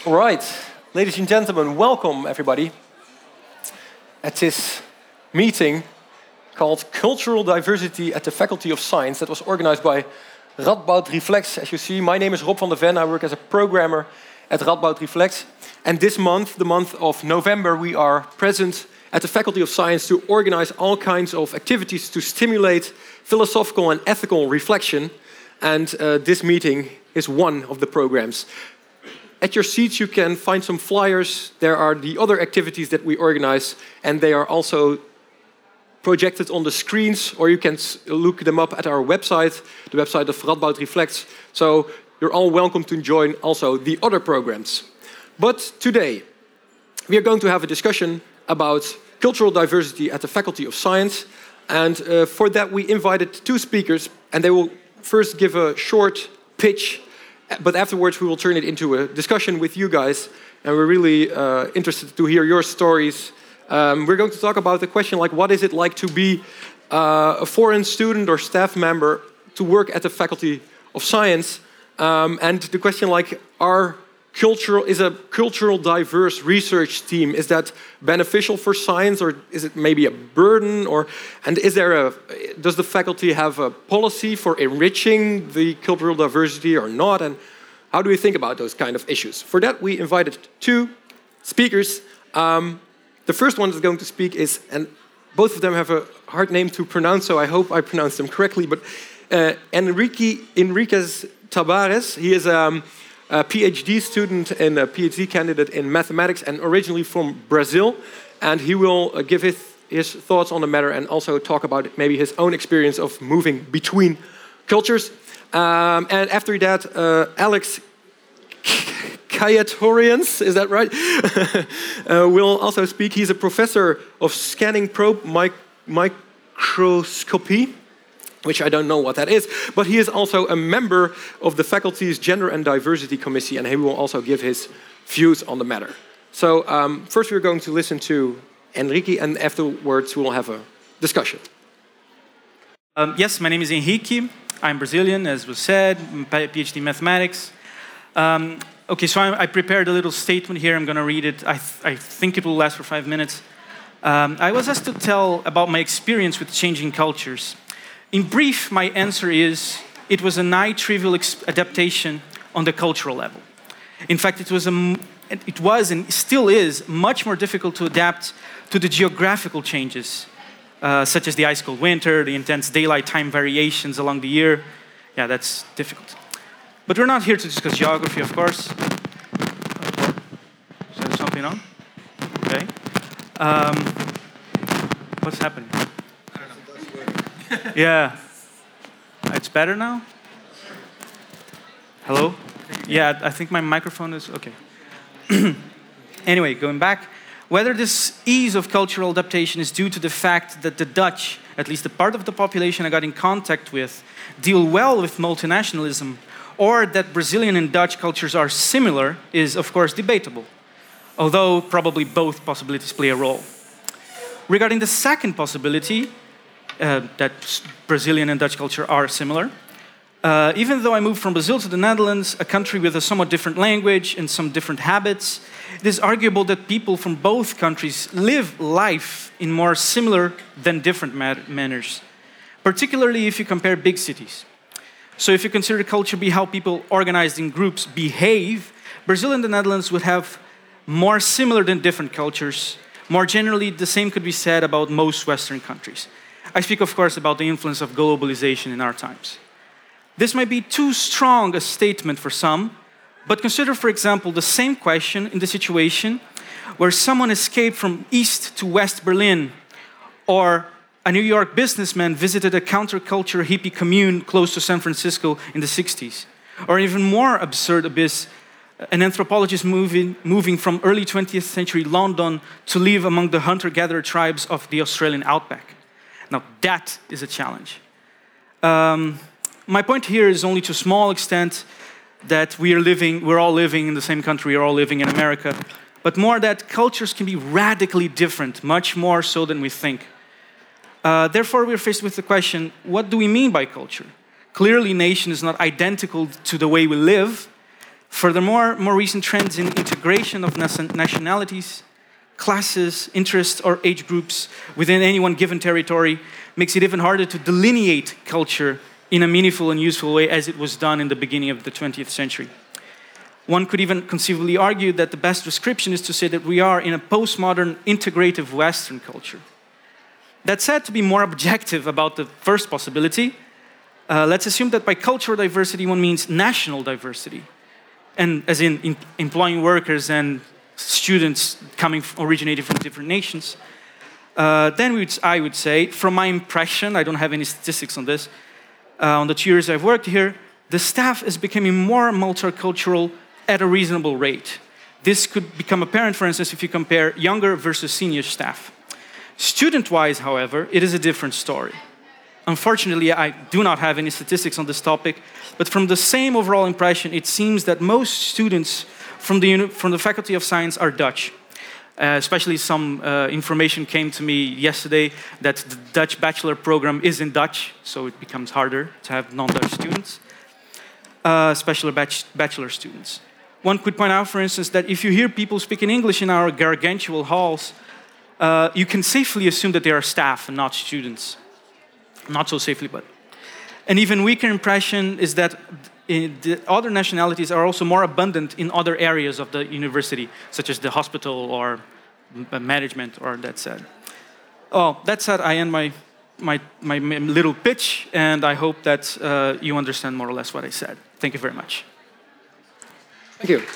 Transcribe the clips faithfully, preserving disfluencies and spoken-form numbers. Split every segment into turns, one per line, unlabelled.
All right, ladies and gentlemen, welcome everybody at this meeting called Cultural Diversity at the Faculty of Science that was organized by Radboud Reflex. As you see, my name is Rob van der Ven. I work as a programmer at Radboud Reflex. And this month, the month of November, we are present at the Faculty of Science to organize all kinds of activities to stimulate philosophical and ethical reflection. And uh, this meeting is one of the programs. At your seats, you can find some flyers. There are the other activities that we organize, and they are also projected on the screens, or you can look them up at our website, the website of Radboud Reflex. So you're all welcome to join also the other programs. But today, we are going to have a discussion about cultural diversity at the Faculty of Science. And uh, for that, we invited two speakers, and they will first give a short pitch, but afterwards we will turn it into a discussion with you guys, and we're really uh, interested to hear your stories. Um, we're going to talk about the question like, what is it like to be uh, a foreign student or staff member to work at the Faculty of Science, um, and the question like, are cultural is a cultural diverse research team, is that beneficial for science, or is it maybe a burden, or and is there a does the faculty have a policy for enriching the cultural diversity or not, and how do we think about those kind of issues? For that, we invited two speakers. Um, the first one that's going to speak is, and both of them have a hard name to pronounce, so I hope I pronounce them correctly, but uh, Enrique Enriquez Tabares. He is um, a PhD student and a PhD candidate in mathematics, and originally from Brazil. And he will uh, give his, his thoughts on the matter and also talk about maybe his own experience of moving between cultures. Um, and after that, uh, Alex Kayatorians, is that right? uh, will also speak. He's a professor of scanning probe mic microscopy, which I don't know what that is, but he is also a member of the faculty's Gender and Diversity Committee, and he will also give his views on the matter. So um, first we're going to listen to Enrique, and afterwards we will have a discussion.
Um, yes, my name is Henrique. I'm Brazilian, as was said, PhD in mathematics. Um, okay, so I, I prepared a little statement here. I'm going to read it. I, th I think it will last for five minutes. Um, I was asked to tell about my experience with changing cultures. In brief, my answer is, it was a nigh-trivial adaptation on the cultural level. In fact, it was, a, it was and still is much more difficult to adapt to the geographical changes, uh, such as the ice-cold winter, the intense daylight time variations along the year. Yeah, that's difficult. But we're not here to discuss geography, of course. Is there something on? Okay. Um, what's happening? Yeah. It's better now? Hello? Yeah, I think my microphone is okay. Anyway, going back, whether this ease of cultural adaptation is due to the fact that the Dutch, at least the part of the population I got in contact with, deal well with multinationalism, or that Brazilian and Dutch cultures are similar, is of course debatable, although probably both possibilities play a role. Regarding the second possibility, Uh, that Brazilian and Dutch culture are similar. Uh, even though I moved from Brazil to the Netherlands, a country with a somewhat different language and some different habits, it is arguable that people from both countries live life in more similar than different manners, particularly if you compare big cities. So if you consider culture be how people organized in groups behave, Brazil and the Netherlands would have more similar than different cultures. More generally, the same could be said about most Western countries. I speak, of course, about the influence of globalization in our times. This might be too strong a statement for some, but consider, for example, the same question in the situation where someone escaped from East to West Berlin, or a New York businessman visited a counterculture hippie commune close to San Francisco in the sixties, or even more absurd abyss, an anthropologist moving, moving from early twentieth century London to live among the hunter-gatherer tribes of the Australian outback. Now, that is a challenge. Um, my point here is only to a small extent that we are living, we're all living in the same country, we're all living in America, but more that cultures can be radically different, much more so than we think. Uh, therefore, we're faced with the question, what do we mean by culture? Clearly, nation is not identical to the way we live. Furthermore, more recent trends in integration of nationalities, classes, interests, or age groups within any one given territory makes it even harder to delineate culture in a meaningful and useful way as it was done in the beginning of the twentieth century. One could even conceivably argue that the best description is to say that we are in a postmodern, integrative Western culture. That said, to be more objective about the first possibility, uh, let's assume that by cultural diversity one means national diversity, and as in, in employing workers and students coming originating from different nations. Uh, then we would, I would say, from my impression, I don't have any statistics on this, uh, on the two years I've worked here, the staff is becoming more multicultural at a reasonable rate. This could become apparent, for instance, if you compare younger versus senior staff. Student-wise, however, it is a different story. Unfortunately, I do not have any statistics on this topic, but from the same overall impression, it seems that most students from the, from the Faculty of Science are Dutch. Uh, especially some uh, information came to me yesterday that the Dutch bachelor program is in Dutch, so it becomes harder to have non-Dutch students, uh, especially bach bachelor students. One could point out, for instance, that if you hear people speaking English in our gargantuan halls, uh, you can safely assume that they are staff and not students. Not so safely, but. An even weaker impression is that the other nationalities are also more abundant in other areas of the university, such as the hospital or management, or that said. Oh, that said, I end my, my, my little pitch, and I hope that uh, you understand more or less what I said. Thank you very much.
Thank you.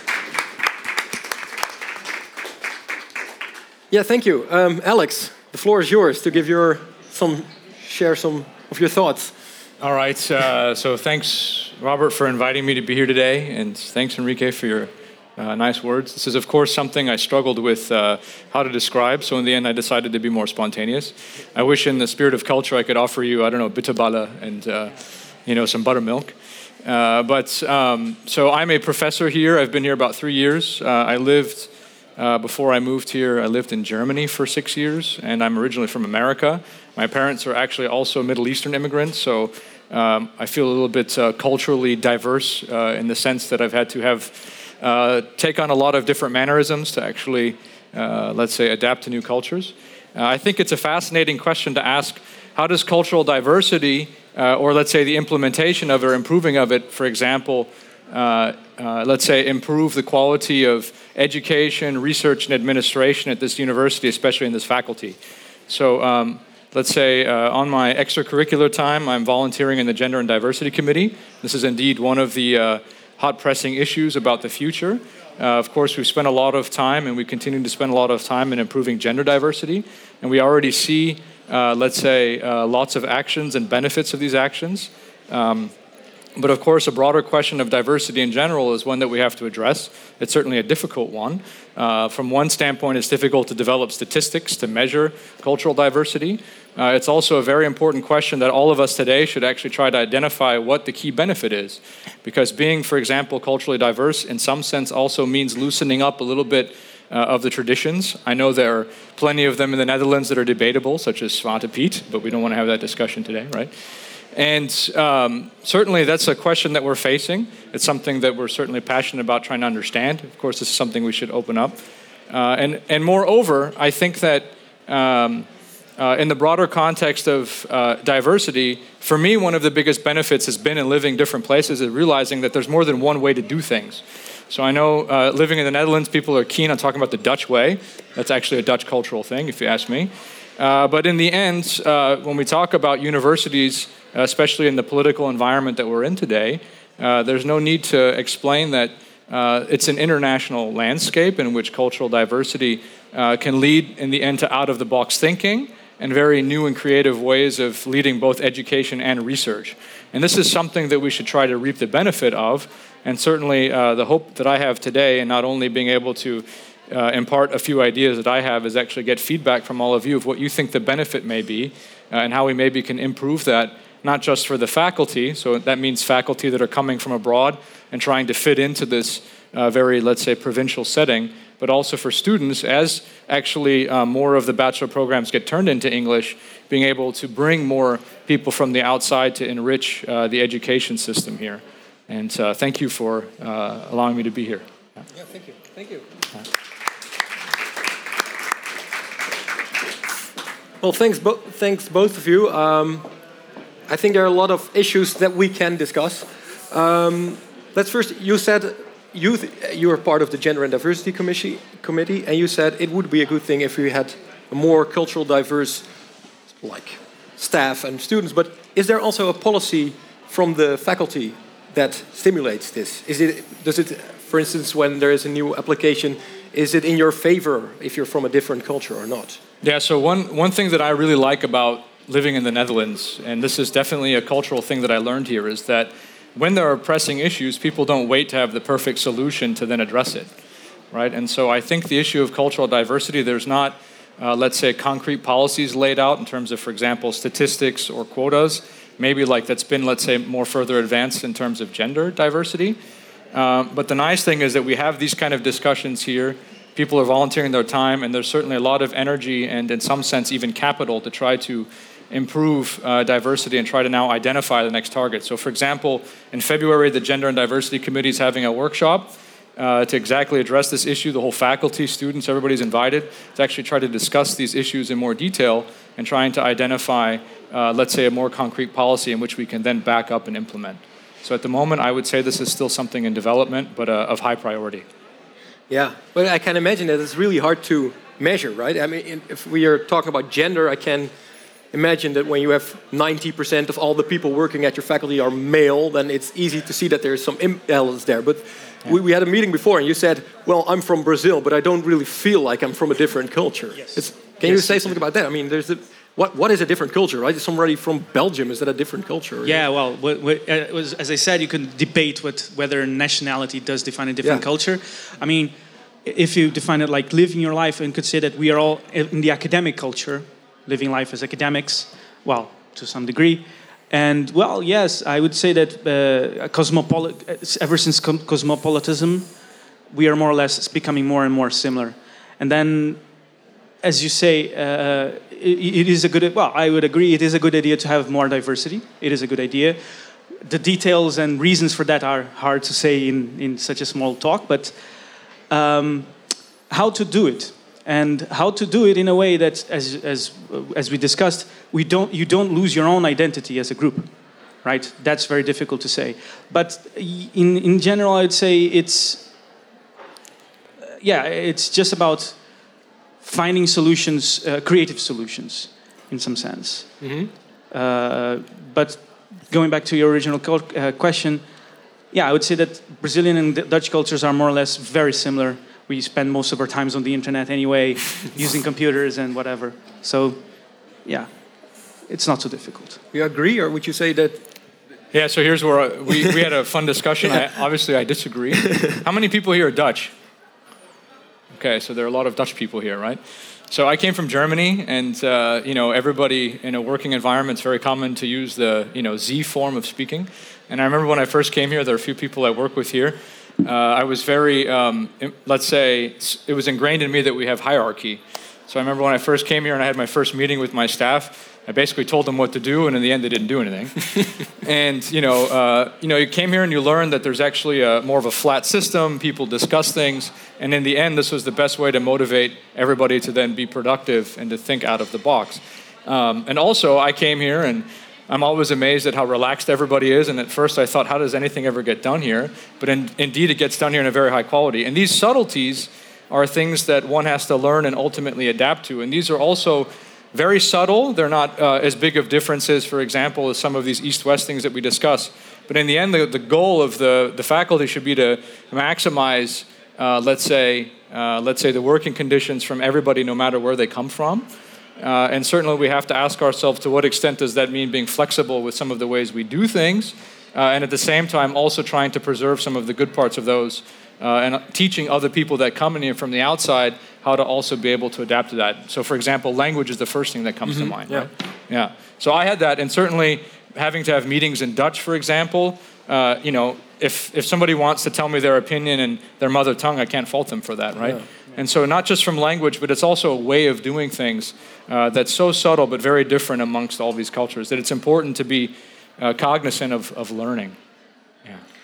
Yeah, thank you. Um, Alex, the floor is yours to give your, some, share some of your thoughts.
All right, uh, so thanks, Robert, for inviting me to be here today, and thanks, Enrique, for your uh, nice words. This is, of course, something I struggled with uh, how to describe, so in the end I decided to be more spontaneous. I wish in the spirit of culture I could offer you, I don't know, bitterballen and, uh, you know, some buttermilk. Uh, but, um, so I'm a professor here. I've been here about three years. Uh, I lived, uh, before I moved here, I lived in Germany for six years, and I'm originally from America. My parents are actually also Middle Eastern immigrants, so um, I feel a little bit uh, culturally diverse uh, in the sense that I've had to have uh, take on a lot of different mannerisms to actually, uh, let's say, adapt to new cultures. Uh, I think it's a fascinating question to ask, how does cultural diversity, uh, or let's say the implementation of it or improving of it, for example, uh, uh, let's say improve the quality of education, research, and administration at this university, especially in this faculty. So, um, let's say uh, on my extracurricular time, I'm volunteering in the Gender and Diversity Committee. This is indeed one of the uh, hot pressing issues about the future. Uh, of course, we've spent a lot of time, and we continue to spend a lot of time in improving gender diversity. And we already see, uh, let's say, uh, lots of actions and benefits of these actions. Um, But of course, a broader question of diversity in general is one that we have to address. It's certainly a difficult one. Uh, from one standpoint, it's difficult to develop statistics to measure cultural diversity. Uh, it's also a very important question that all of us today should actually try to identify what the key benefit is. Because being, for example, culturally diverse in some sense also means loosening up a little bit uh, of the traditions. I know there are plenty of them in the Netherlands that are debatable, such as Zwarte Piet, but we don't want to have that discussion today, right? And um, certainly that's a question that we're facing. It's something that we're certainly passionate about trying to understand. Of course, this is something we should open up. Uh, and, and moreover, I think that um, uh, in the broader context of uh, diversity, for me, one of the biggest benefits has been in living different places is realizing that there's more than one way to do things. So I know uh, living in the Netherlands, people are keen on talking about the Dutch way. That's actually a Dutch cultural thing, if you ask me. Uh, but in the end, uh, when we talk about universities, especially in the political environment that we're in today, uh, there's no need to explain that uh, it's an international landscape in which cultural diversity uh, can lead, in the end, to out-of-the-box thinking and very new and creative ways of leading both education and research. And this is something that we should try to reap the benefit of, and certainly uh, the hope that I have today in not only being able to Uh, impart a few ideas that I have is actually get feedback from all of you of what you think the benefit may be uh, and how we maybe can improve that, not just for the faculty, so that means faculty that are coming from abroad and trying to fit into this uh, very, let's say, provincial setting, but also for students as actually uh, more of the bachelor programs get turned into English, being able to bring more people from the outside to enrich uh, the education system here. And uh, thank you for uh, allowing me to be here.
Yeah, yeah thank you. Thank you. Yeah. Well, thanks, bo thanks both of you. Um, I think there are a lot of issues that we can discuss. Um, let's first, you said you, you are part of the Gender and Diversity Committee, committee, and you said it would be a good thing if we had a more cultural diverse like staff and students. But is there also a policy from the faculty that stimulates this? Is it, does it, for instance, when there is a new application, is it in your favor if you're from a different culture or not?
Yeah, so one, one thing that I really like about living in the Netherlands, and this is definitely a cultural thing that I learned here, is that when there are pressing issues, people don't wait to have the perfect solution to then address it, right? And so I think the issue of cultural diversity, there's not, uh, let's say, concrete policies laid out in terms of, for example, statistics or quotas, maybe like that's been, let's say, more further advanced in terms of gender diversity. Um, but the nice thing is that we have these kind of discussions here. People are volunteering their time, and there's certainly a lot of energy and, in some sense, even capital to try to improve uh, diversity and try to now identify the next target. So, for example, in February, the Gender and Diversity Committee is having a workshop uh, to exactly address this issue. The whole faculty, students, everybody's invited to actually try to discuss these issues in more detail and trying to identify, uh, let's say, a more concrete policy in which we can then back up and implement. So at the moment, I would say this is still something in development, but uh, of high priority.
Yeah, but I can imagine that it's really hard to measure, right? I mean, if we are talking about gender, I can imagine that when you have ninety percent of all the people working at your faculty are male, then it's easy to see that there's some imbalance there. But yeah. we, we had a meeting before, and you said, well, I'm from Brazil, but I don't really feel like I'm from a different culture.
Yes.
It's, can yes, you say something about that? I mean, there's a, what, what is a different culture, right? Is somebody from Belgium, is that a different culture?
Yeah, well, what, what, uh, was, as I said, you can debate what, whether nationality does define a different
yeah.
culture. I mean, if you define it like living your life and could say that we are all in the academic culture, living life as academics, well, to some degree. And, well, yes, I would say that uh, cosmopolit- ever since com- cosmopolitanism, we are more or less becoming more and more similar. And then, as you say, uh, it, it is a good, well, I would agree, it is a good idea to have more diversity. It is a good idea. The details and reasons for that are hard to say in, in such a small talk, but um, how to do it? And how to do it in a way that, as as as we discussed, we don't you don't lose your own identity as a group, right? That's very difficult to say. But in in general, I'd say it's yeah, it's just about finding solutions, uh, creative solutions, in some sense.
Mm-hmm.
Uh, but going back to your original uh, question, yeah, I would say that Brazilian and Dutch cultures are more or less very similar. We spend most of our times on the internet anyway, using computers and whatever. So, yeah, it's not so difficult.
You agree, or would you say that?
Yeah, so here's where I, we, we had a fun discussion. I, obviously, I disagree. How many people here are Dutch? Okay, so there are a lot of Dutch people here, right? So I came from Germany, and uh, you know, everybody in a working environment, it's very common to use the you know Z form of speaking. And I remember when I first came here, there are a few people I work with here. Uh, I was very, um, let's say, it was ingrained in me that we have hierarchy. So I remember when I first came here and I had my first meeting with my staff, I basically told them what to do, and in the end, they didn't do anything. And you know, uh, you know, you came here and you learned that there's actually a, more of a flat system. People discuss things, and in the end, this was the best way to motivate everybody to then be productive and to think out of the box. Um, and also, I came here and I'm always amazed at how relaxed everybody is, and at first I thought, how does anything ever get done here? But in, indeed, it gets done here in a very high quality. And these subtleties are things that one has to learn and ultimately adapt to. And these are also very subtle. They're not uh, as big of differences, for example, as some of these East-West things that we discuss. But in the end, the, the goal of the, the faculty should be to maximize, uh, let's say, uh, let's say the working conditions from everybody, no matter where they come from. Uh, and certainly we have to ask ourselves, to what extent does that mean being flexible with some of the ways we do things, uh, and at the same time also trying to preserve some of the good parts of those, uh, and teaching other people that come in here from the outside how to also be able to adapt to that. So for example, language is the first thing that comes mm-hmm. to mind,
yeah.
right? Yeah. So I had that, and certainly having to have meetings in Dutch, for example, uh, you know, if, if somebody wants to tell me their opinion in their mother tongue, I can't fault them for that, right? Yeah. And so not just from language, but it's also a way of doing things uh, that's so subtle but very different amongst all these cultures that it's important to be uh, cognizant of, of learning. Yeah.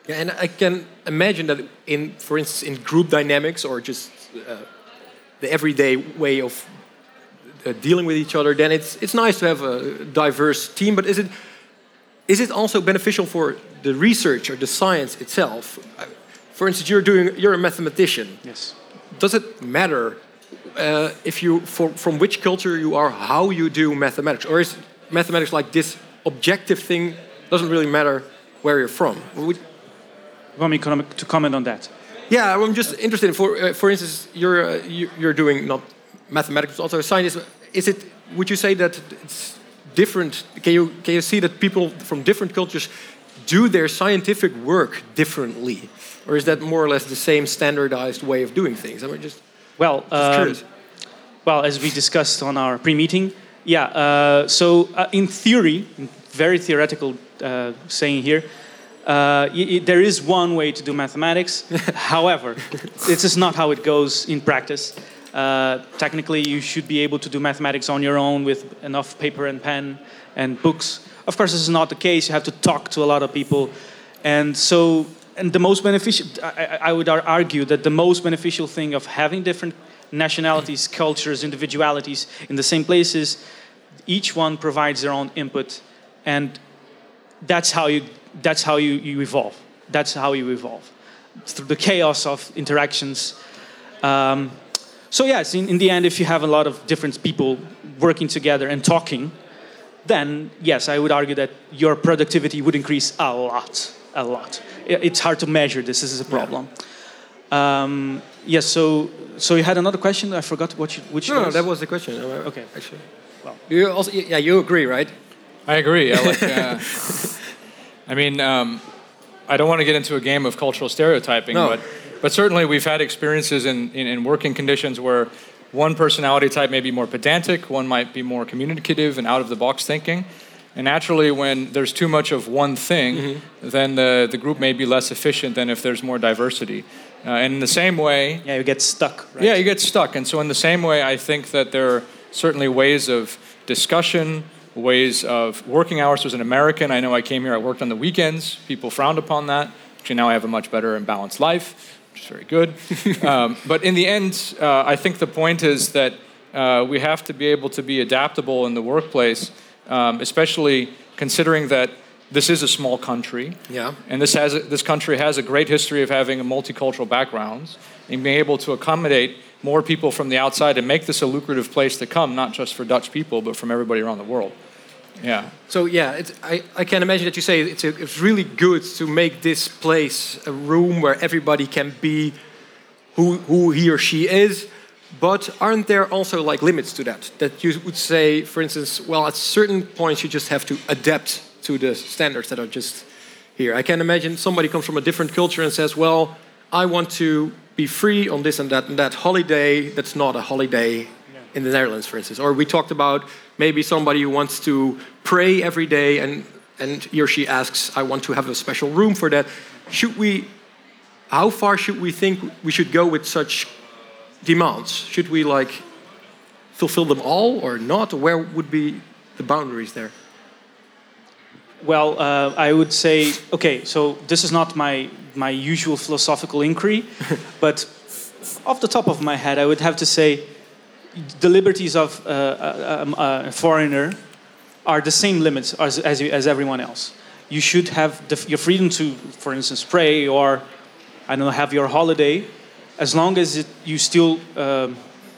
Yeah, and I can imagine that in, for instance, in group dynamics or just uh, the everyday way of uh, dealing with each other, then it's it's nice to have a diverse team. But is it is it also beneficial for the research or the science itself? Uh, For instance, you're doing you're a mathematician.
Yes.
Does it matter uh, if you for, from which culture you are, how you do mathematics, or is mathematics like this objective thing? Doesn't really matter where you're from. Would,
You want me com- to comment on that?
yeah, I'm just interested. In, for uh, for instance, you're uh, you- you're doing not mathematics, but also science. Is it? Would you say that it's different? Can you can you see that people from different cultures do their scientific work differently? Or is that more or less the same standardized way of doing things? I mean, just,
Well,
just
um,
curious.
well, as we discussed on our pre-meeting, yeah. Uh, so, uh, in theory, very theoretical uh, saying here, uh, y- y- there is one way to do mathematics. However, this is not how it goes in practice. Uh, technically, you should be able to do mathematics on your own with enough paper and pen and books. Of course, this is not the case. You have to talk to a lot of people, and so. And the most beneficial, I, I would ar- argue that the most beneficial thing of having different nationalities, cultures, individualities in the same places, each one provides their own input, and that's how you that's how you, you evolve. That's how you evolve through the chaos of interactions. Um, so yes, in, in the end, if you have a lot of different people working together and talking, then yes, I would argue that your productivity would increase a lot, a lot. It's hard to measure this. This is a problem. Yeah. Um, yes. So, so you had another question. I forgot what you, which.
No,
was.
no, that was the question.
Okay.
Actually,
well,
you also yeah, you agree, right?
I agree. I like. Uh, I mean, um, I don't want to get into a game of cultural stereotyping,
No.
but but certainly we've had experiences in, in, in working conditions where one personality type may be more pedantic, one might be more communicative and out of the box thinking. And naturally, when there's too much of one thing, mm-hmm. then the, the group may be less efficient than if there's more diversity. Uh, and in the same way...
Yeah, you get stuck, right?
Yeah, you get stuck. And so in the same way, I think that there are certainly ways of discussion, ways of working hours. As an American, I know I came here, I worked on the weekends. People frowned upon that. Actually, now I have a much better and balanced life, which is very good. um, but in the end, uh, I think the point is that uh, we have to be able to be adaptable in the workplace, Um, especially considering that this is a small country,
yeah,
and this has a, this country has a great history of having a multicultural backgrounds, and being able to accommodate more people from the outside and make this a lucrative place to come, not just for Dutch people, but from everybody around the world. Yeah.
So yeah, it's, I I can imagine that you say it's a, it's really good to make this place a room where everybody can be who who he or she is. But aren't there also like limits to that? That you would say, for instance, well, at certain points you just have to adapt to the standards that are just here. I can imagine somebody comes from a different culture and says, well, I want to be free on this and that and that holiday. That's not a holiday yeah. in the Netherlands, for instance. Or we talked about maybe somebody who wants to pray every day and, and he or she asks, I want to have a special room for that. Should we, how far should we think we should go with such demands? Should we like fulfill them all or not? Where would be the boundaries there?
Well, uh, I would say, okay, so this is not my, my usual philosophical inquiry, but off the top of my head, I would have to say the liberties of uh, a, a foreigner are the same limits as, as, as everyone else. You should have the, your freedom to, for instance, pray or, I don't know, have your holiday, as long as it, you still um,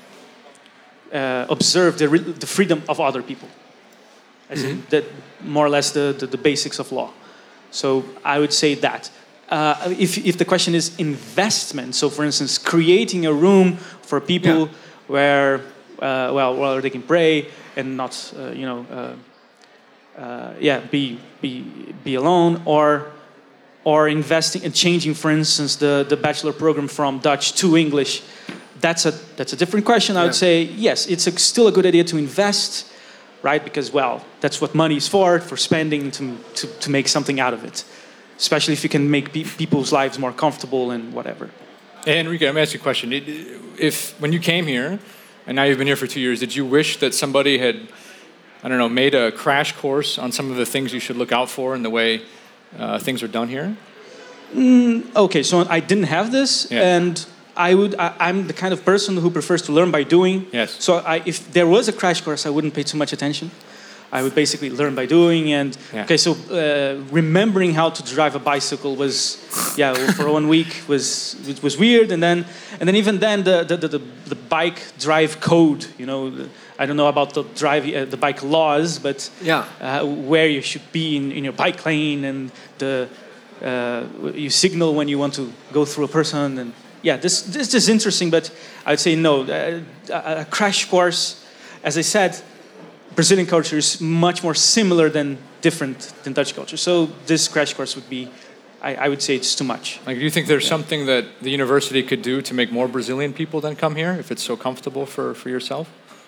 uh, observe the, re- the freedom of other people. As mm-hmm. in that, more or less the, the, the basics of law. So I would say that. Uh, if, if the question is investment, so for instance, creating a room for people yeah. where, uh, well, where they can pray and not, uh, you know, uh, uh, yeah, be, be, be alone, or or investing and changing, for instance, the, the bachelor program from Dutch to English, that's a that's a different question. I yeah. would say, yes, it's a, still a good idea to invest, right? Because, well, that's what money is for, for spending, to, to, to make something out of it. Especially if you can make pe- people's lives more comfortable and whatever.
Hey, Enrique, let me ask you a question. If, when you came here, and now you've been here for two years, did you wish that somebody had, I don't know, made a crash course on some of the things you should look out for in the way Uh, things are done here?
Mm, okay, so I didn't have this,
Yeah.
and I would. I, I'm the kind of person who prefers to learn by doing.
Yes.
So I, if there was a crash course, I wouldn't pay too much attention. I would basically learn by doing, and
Yeah.
okay, so uh, remembering how to drive a bicycle was, yeah, well, for one week was it was weird, and then and then even then the the the, the, the bike drive code, you know, the, I don't know about the drive uh, the bike laws, but
Yeah.
uh, where you should be in, in your bike lane, and the uh, you signal when you want to go through a person, and yeah, this this is interesting, but I'd say no, uh, a, a crash course, as I said. Brazilian culture is much more similar than different than Dutch culture. So this crash course would be, I, I would say it's too much.
Like, do you think there's yeah. something that the university could do to make more Brazilian people then come here, if it's so comfortable for, for yourself?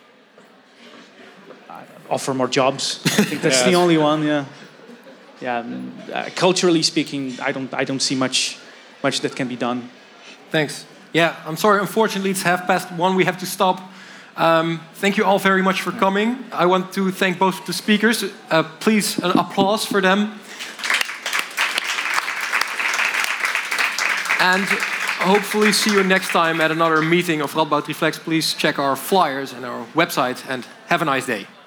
Offer more jobs. I think that's
yeah,
the only one. Yeah, yeah. Um, uh, culturally speaking, I don't I don't see much much that can be done.
Thanks. Yeah, I'm sorry. Unfortunately, it's half past one. We have to stop. Um, thank you all very much for coming. I want to thank both of the speakers. Uh, please, an applause for them. And hopefully see you next time at another meeting of Radboud Reflects. Please check our flyers and our website and have a nice day.